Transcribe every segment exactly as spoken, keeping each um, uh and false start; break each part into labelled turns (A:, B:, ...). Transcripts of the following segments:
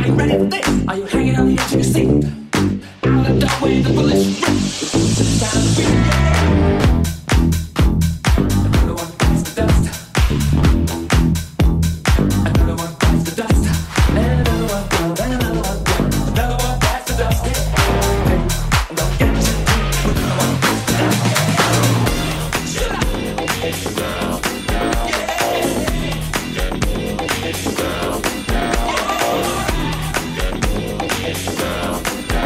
A: Are you ready for this? Are you hanging on the edge of your seat? Out the doorway, the bullets rip. It's time to beat it. Another one bites the dust. Another one bites the dust. And another one goes, and another one goes. Another one bites the dust. Hey, I'm gonna get you. Another one bites the dust. Chill out. Yeah.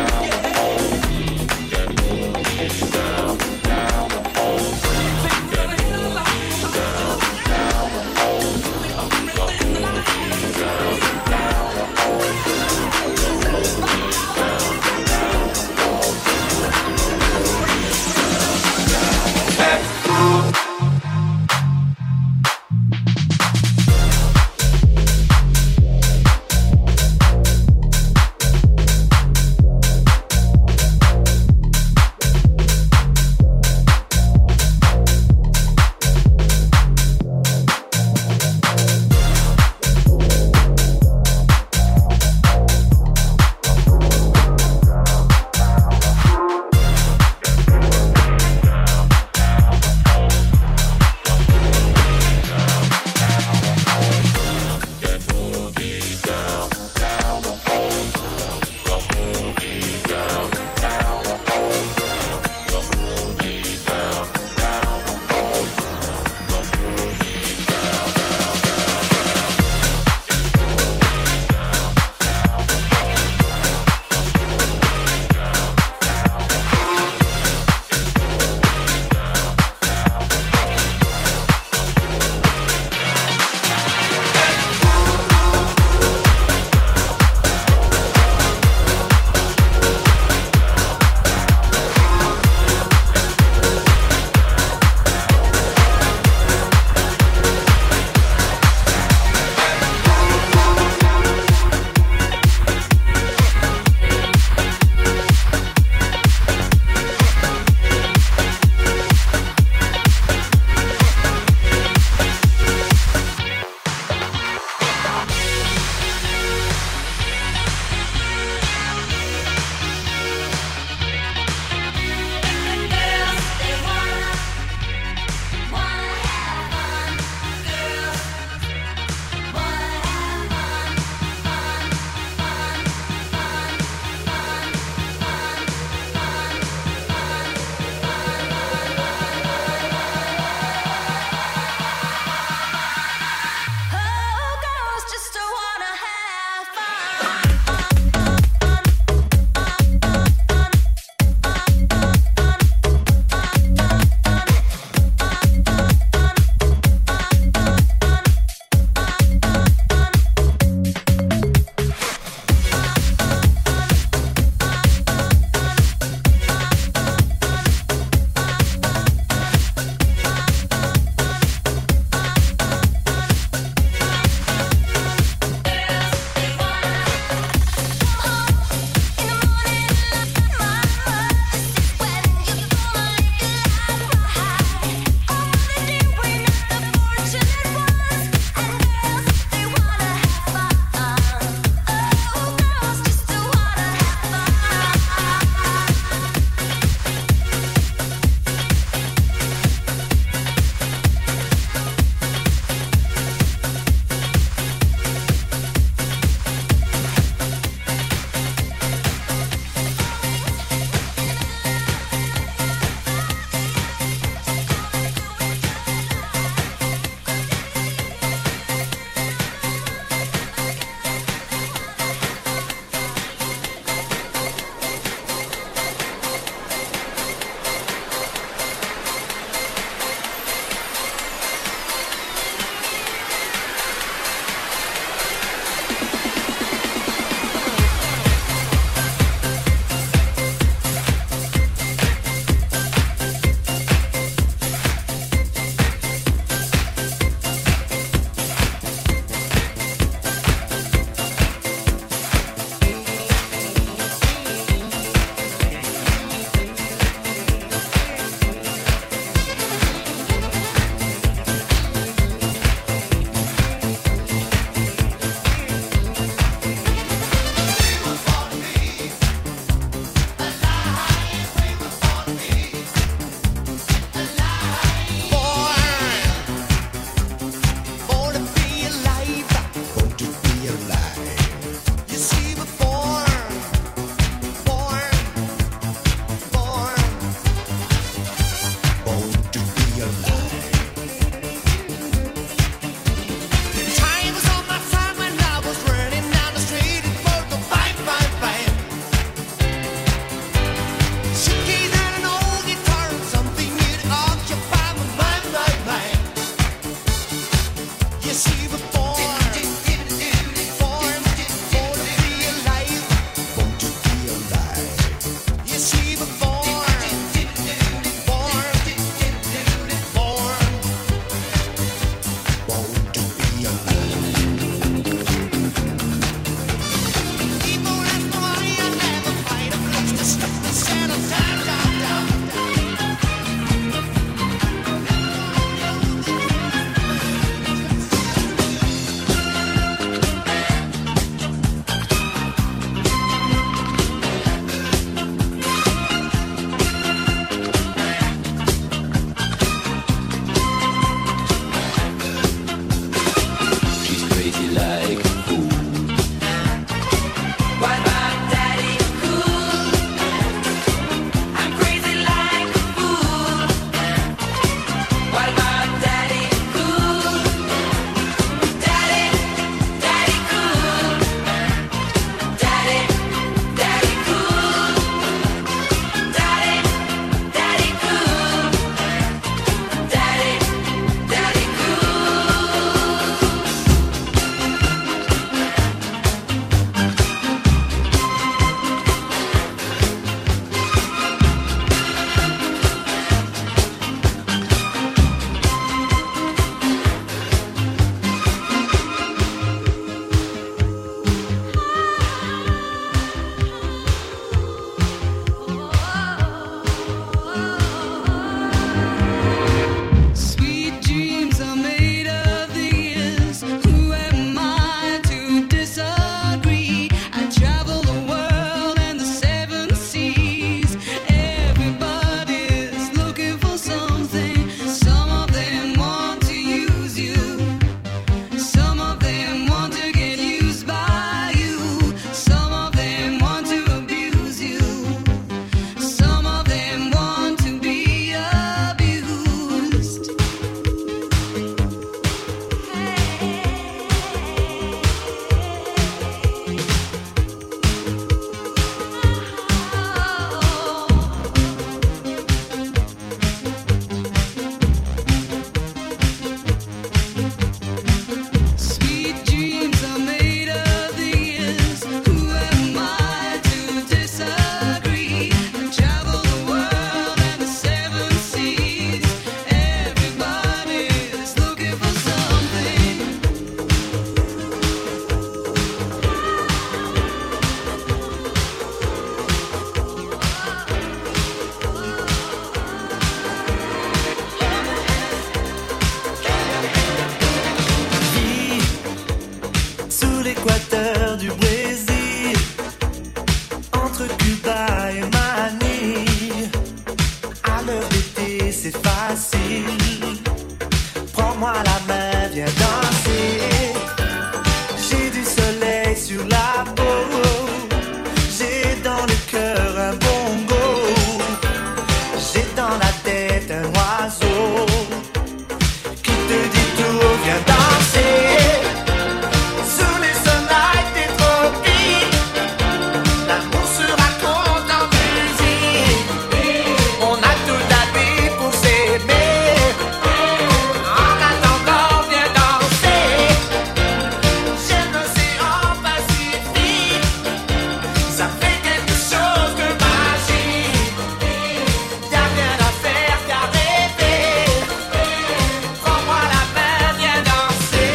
A: facile. Prends-moi la main, viens danser. J'ai du soleil sur la peau. J'ai dans le cœur un bongo. J'ai dans la tête un oiseau qui te dit tout, viens danser. Sous les soleils des tropiques, l'amour se raconte en musique. On a toute la vie pour s'aimer. En attendant, viens danser. J'aime l'océan Pacifique. Ça fait quelque chose de magique. Y'a rien à faire qu'à rêver. Prends-moi la main, viens danser.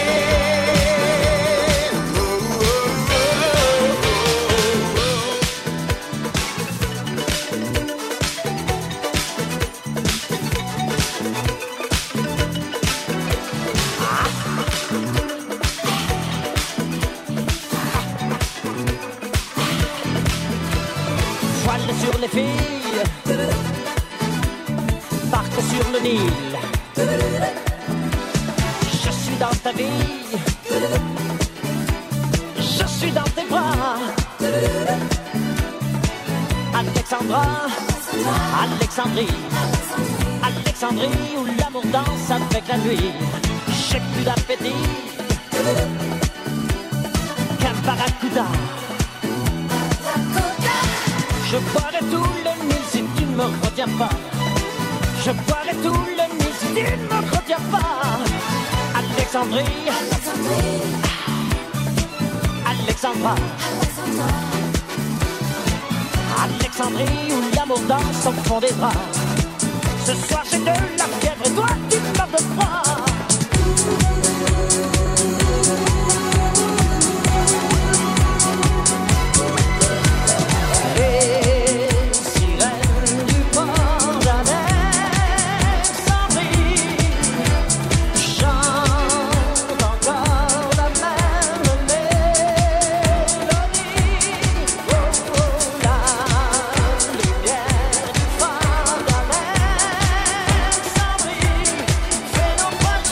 B: Voile sur les filles, barque sur le Nil. Je suis dans ta vie, je suis dans tes bras. Alexandra, Alexandrie, Alexandrie où l'amour danse avec la nuit. J'ai plus d'appétit qu'un barracuda. Je boirai tout le Nil si tu ne me retiens pas. Je boirai tout le Nil si tu ne me retiens pas. Alexandrie, Alexandra, Alexandrie où l'amour danse au fond des bras. Ce soir j'ai de la fièvre et toi tu meurs de froid. Les sirènes du port d'Alexandrie chantent encore la même mélodie. Oh, oh, la lumière du port d'Alexandrie fait nos voiles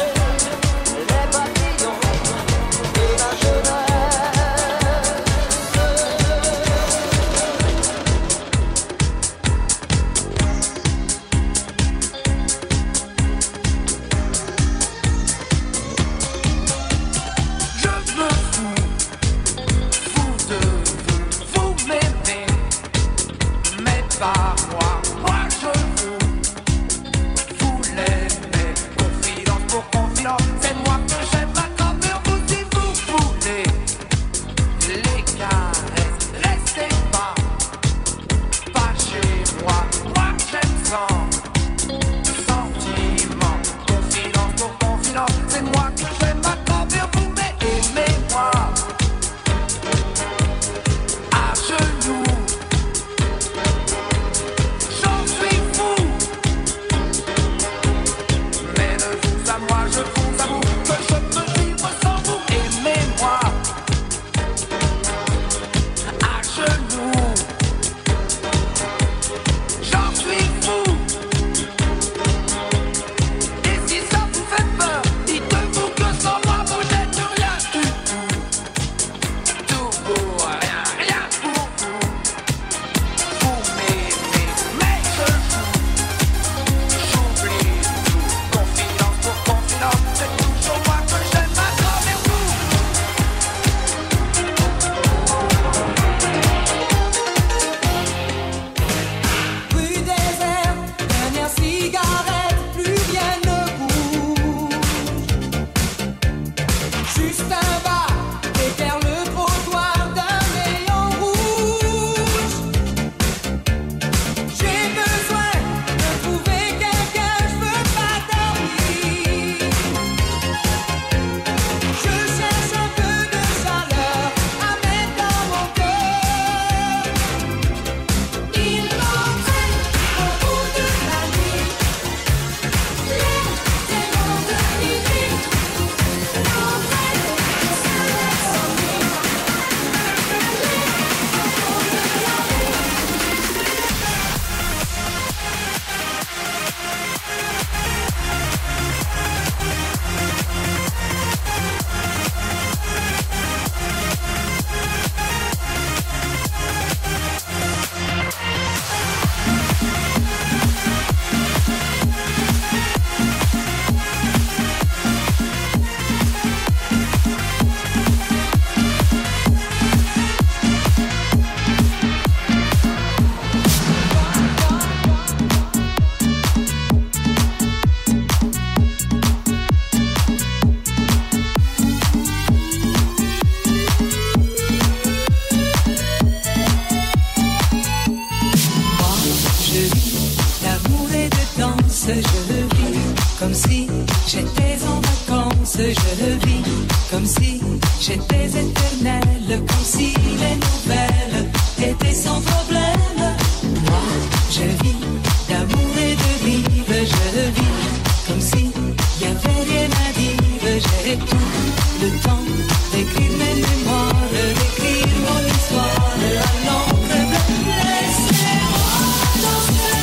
C: je le vis comme si j'étais en vacances, je le vis comme si j'étais éternelle, comme si les nouvelles étaient sans problème. Moi, je vis d'amour et de vivre, je le vis comme si y avait rien à dire. J'ai tout le temps d'écrire mes mémoires, d'écrire mon histoire à l'encre bleue. Laissez-moi danser,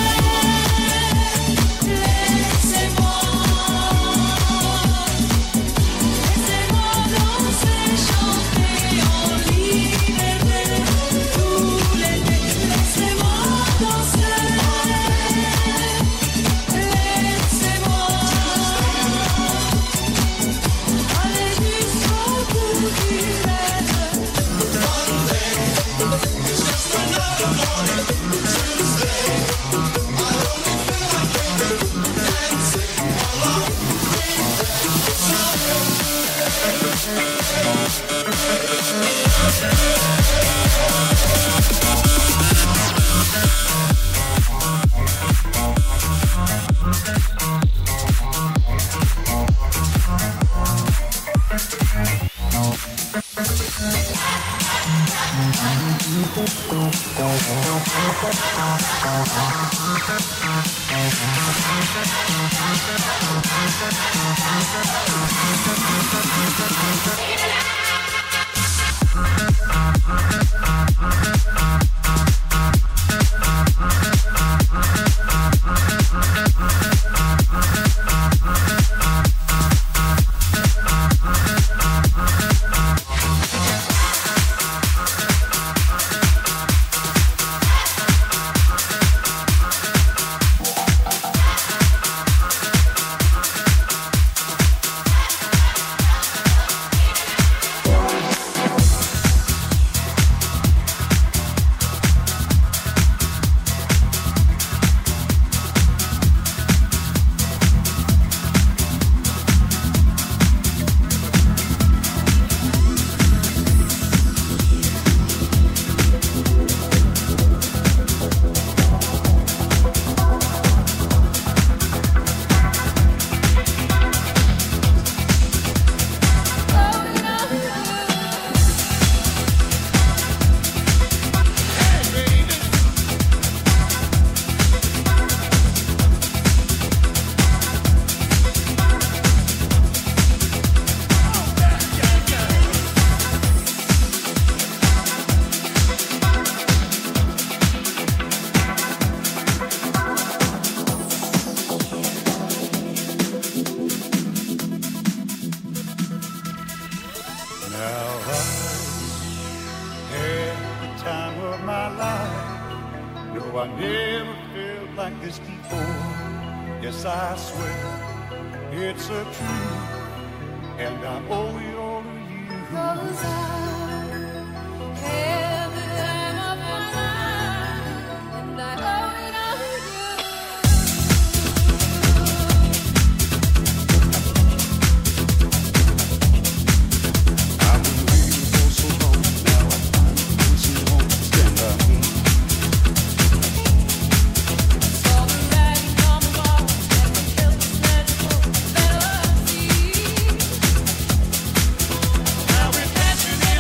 C: laissez-moi, laissez-moi danser, chanter en liberté tout l'été. Laissez-moi danser, laissez-moi aller jusqu'au bout du rêve.
D: Now we're dancing in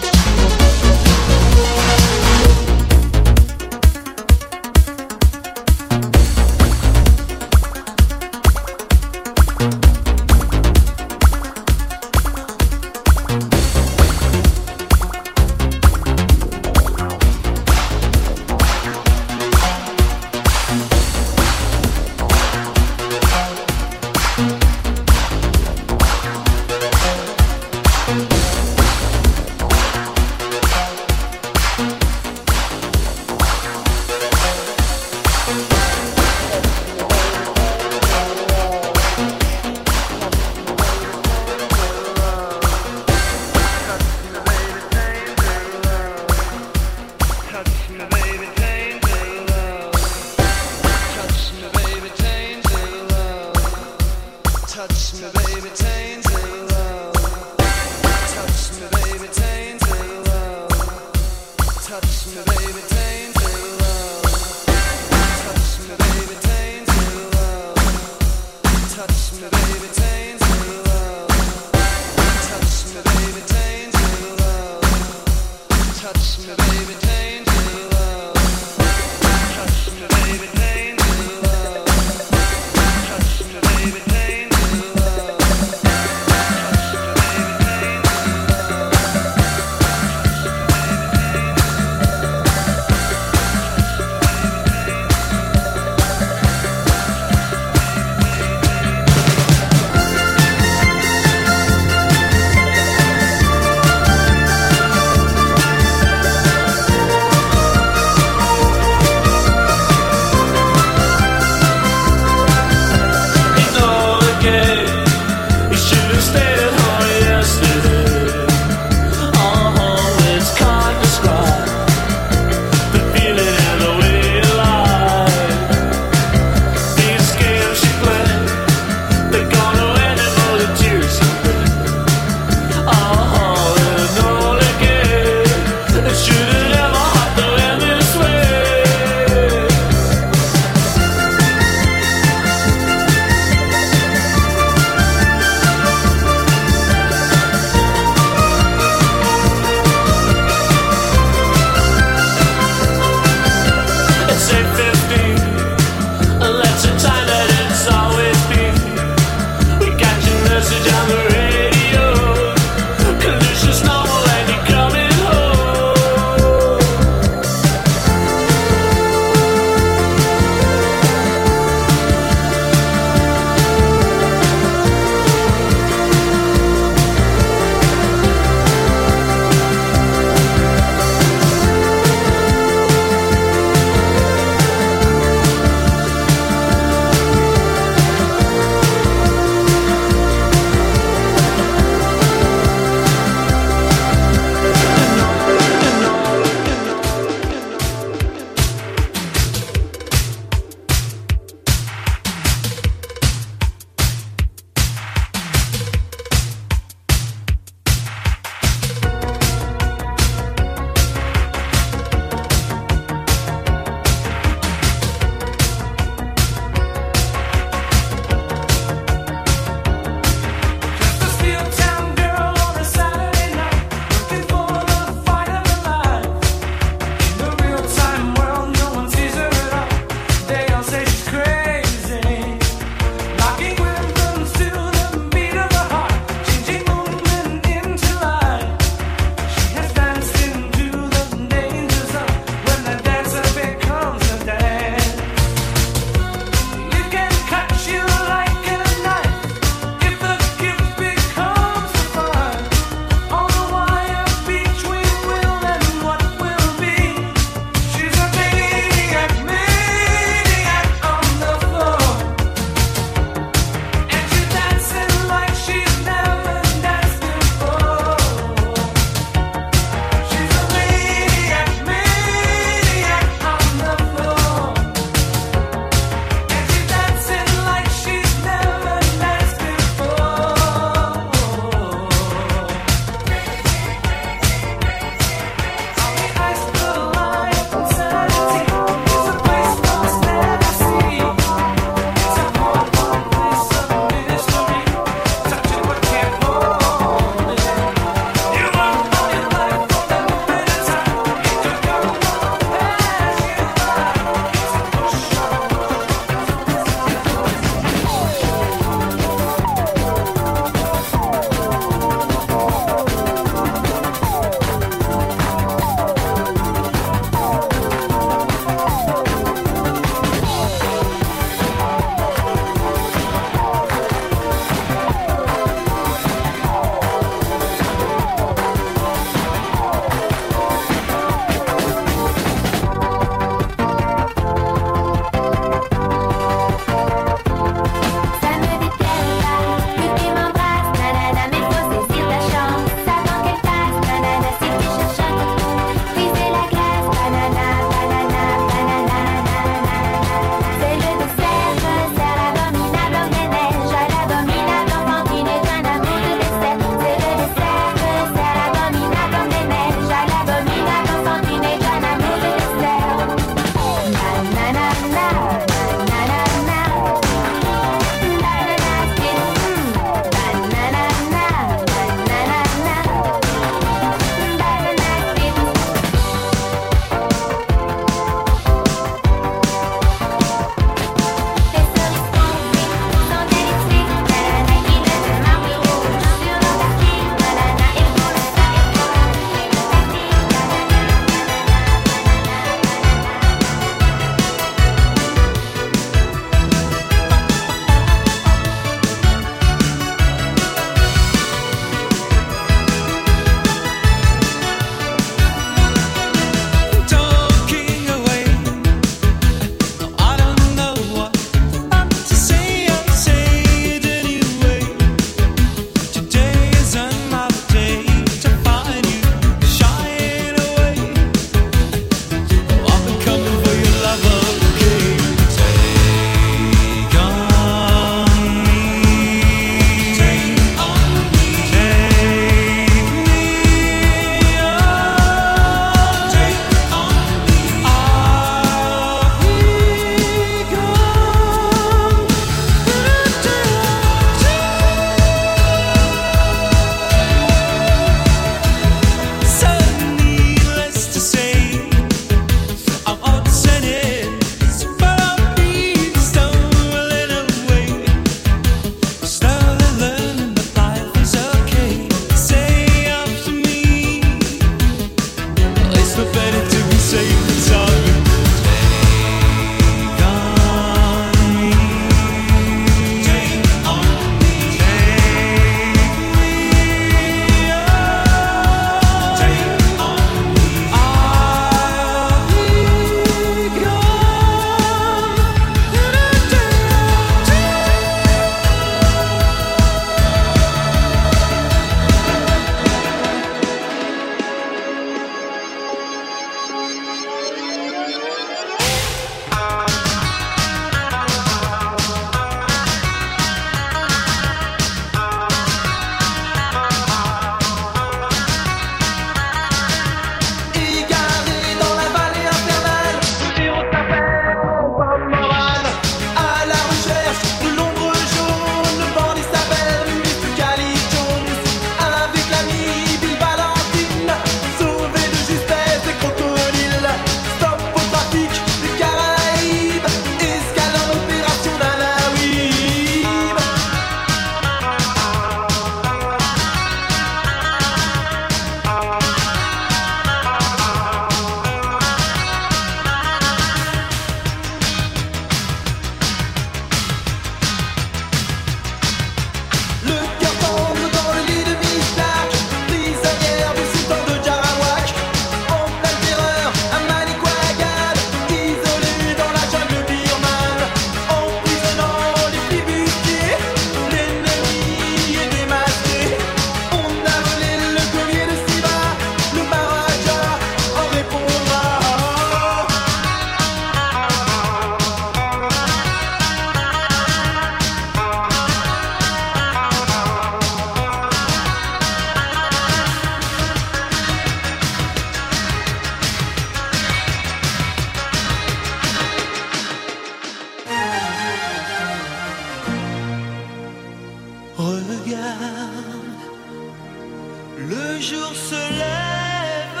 D: Le jour se lève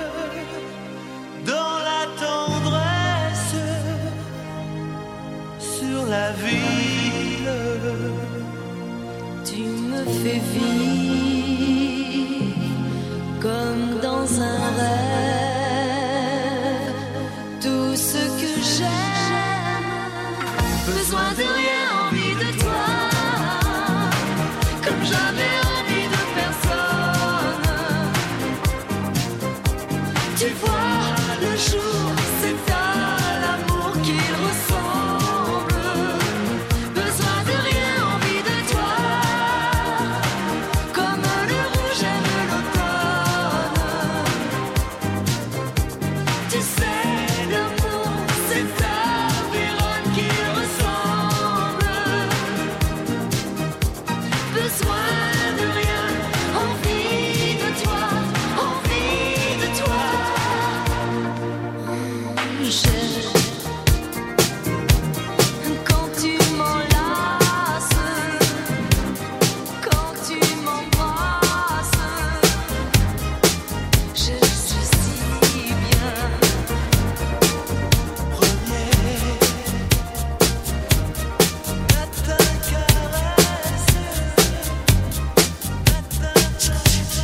D: dans la tendresse sur la ville.
C: Tu me fais vivre comme dans un rêve. Tout ce que j'aime, besoin de rien, envie de toi, comme jamais envie de personne. Tu vois, le jour, c'est à l'amour qu'il ressemble. Besoin de rien, envie de toi, comme le rouge aime l'automne. Tu sais, l'amour, c'est à Vérone qu'il ressemble. Besoin de rien, envie de toi, envie de toi. J'aime quand tu m'enlaces, quand tu m'embrasses. Je suis si bien.
D: Premier à ta caresse, à ta tendresse.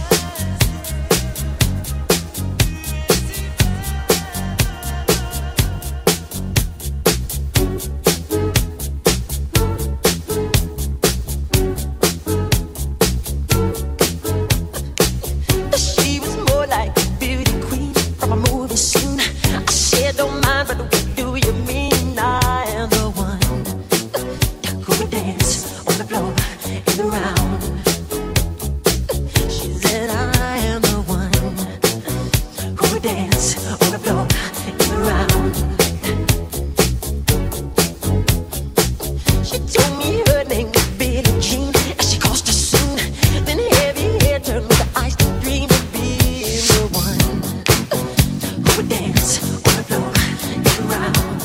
B: She was more like a beauty queen from a movie scene. I said, don't mind, but what do you mean? I am the one who would dance on the floor and around. She said, I am the one who would dance on the floor and around. She told me her name was Billie Jean, and she crossed her soon. Then heavy hair turned with the ice to dream of being the one who would dance on the floor and around.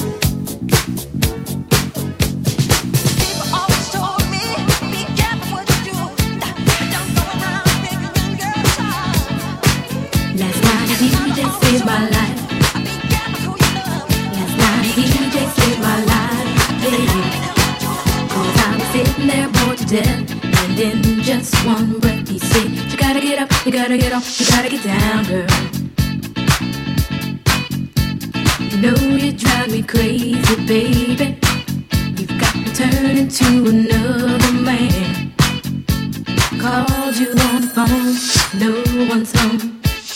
B: People always told me, be careful what you do. Don't go around figuring your time.
E: Last night a D J saved my life.
B: Be careful who you love.
E: Last night a D J saved my life. Yeah. Cause I was sitting there bored to death, and in just one breath he said, you gotta get up, you gotta get off, you gotta get down, girl. You know you drive me crazy, baby. You've got me turning to another man. Called you on the phone, no one's home.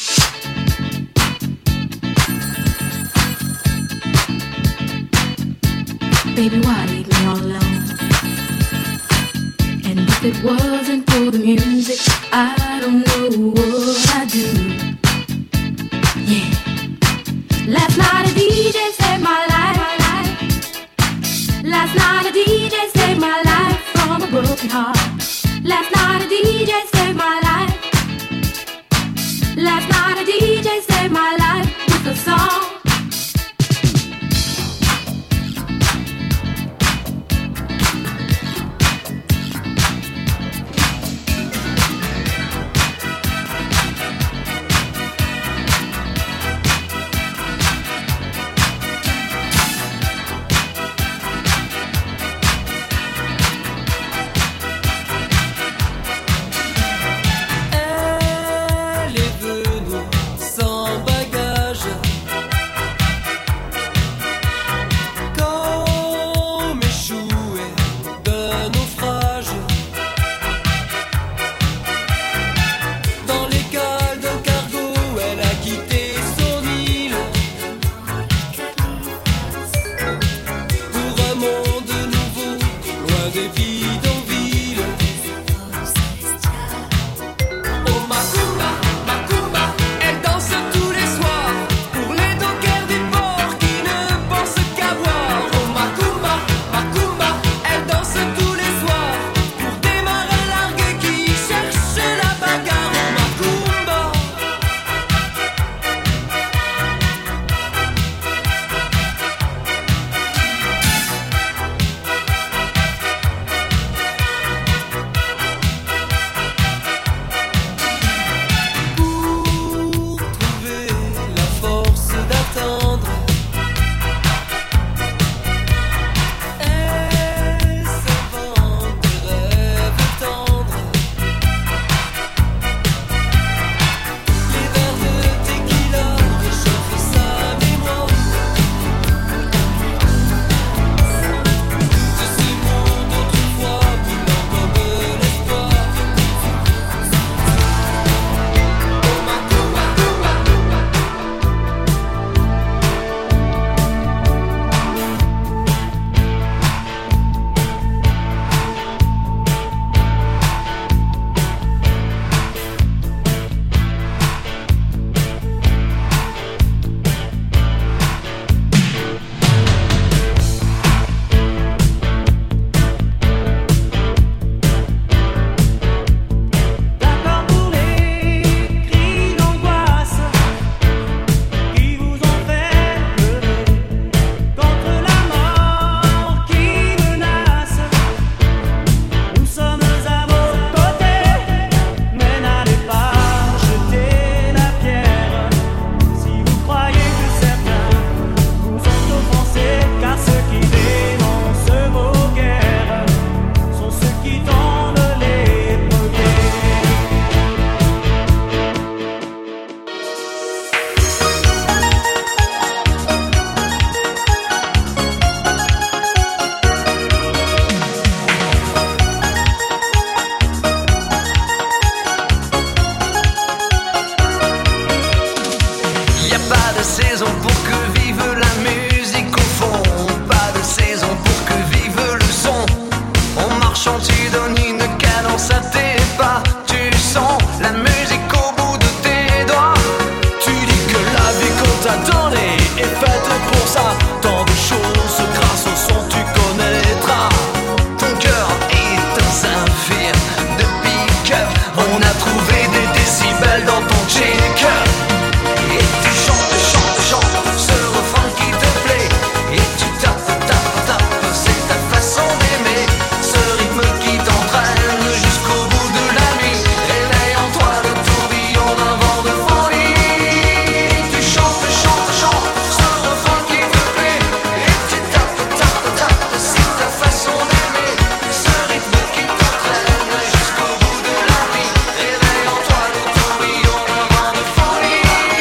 E: Baby, why leave me all alone? And if it wasn't for the music, I don't know what I'd do. Yeah. Last night a D J saved my life. Last night a D J saved my life from a broken heart. Last night a D J saved my life. Last night a D J saved my life with a song.
D: On a trouvé des décibels dans ton check. Et tu chantes, chantes, chantes ce refrain qui te plaît. Et tu tapes, tapes, tapes, c'est ta façon d'aimer. Ce rythme qui t'entraîne jusqu'au bout de la nuit. Réveille en toi le tourbillon d'un vent de folie. Tu chantes, chantes, chantes ce refrain qui te plaît. Et tu tapes, tapes, tapes, c'est ta façon d'aimer. Ce rythme qui t'entraîne jusqu'au bout de la nuit. Réveille en toi le tourbillon d'un vent de folie.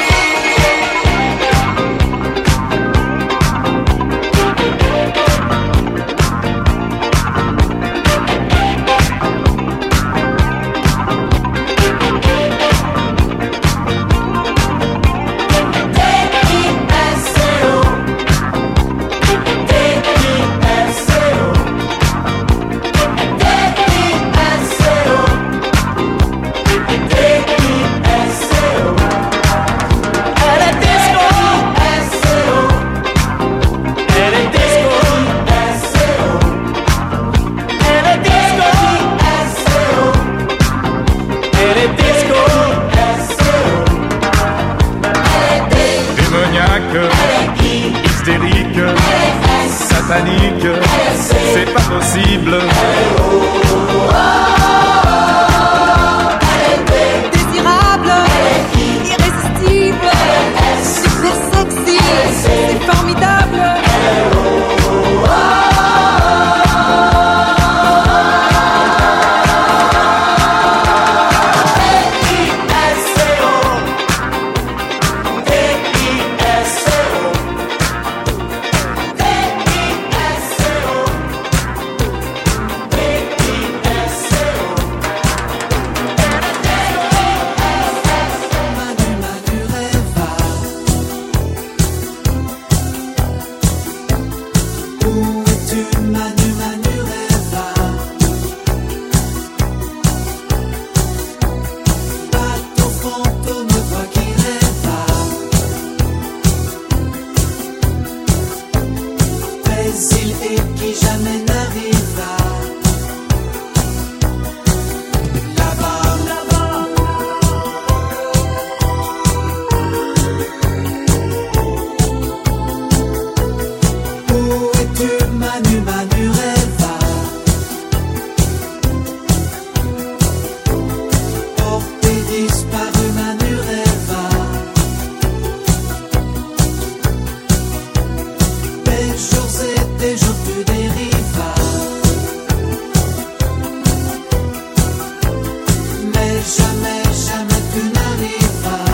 F: Démoniaque, hystérique, satanique, c'est pas possible.
G: Désirable, irrésistible, super sexy, c'est formidable.
D: Où es-tu, Manu, Manu, Reva? Pas ton fantôme, toi qui rêva. Mais il est qui jamais n'arriva. Là-bas, là-bas. Où es-tu, Manu, Manu, Reva? Porté disparu, Manu, Reva. Des jours et des jours tu dérivas. Mais jamais, jamais tu n'arrivas.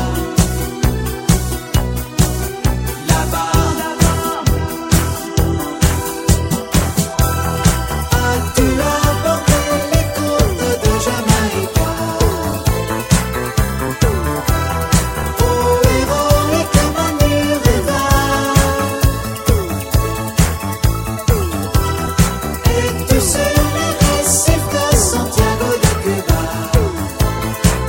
D: Là-bas, as-tu abordé les côtes de Jamaïca? Oh, héroïque Manu Reva. Es-tu sur les récifs de Santiago de Cuba?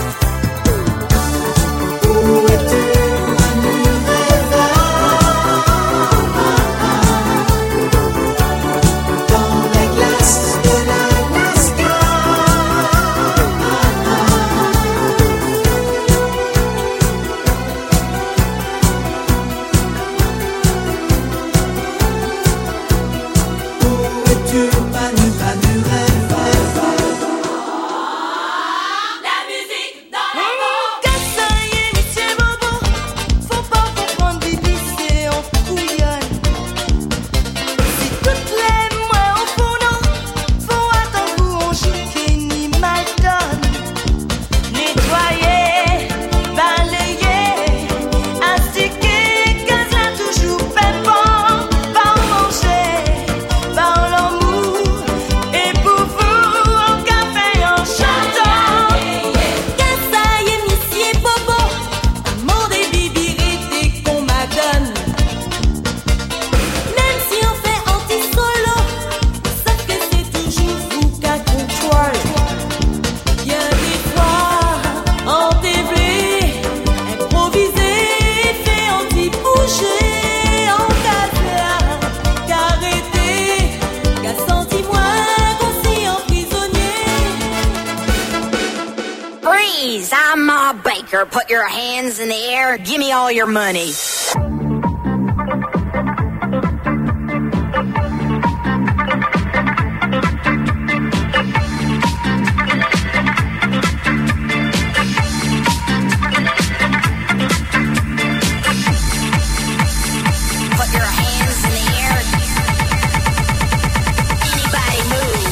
H: Freeze! I'm Ma Baker. Put your hands in the air. Give me all your money. Put your hands in the air. Anybody move?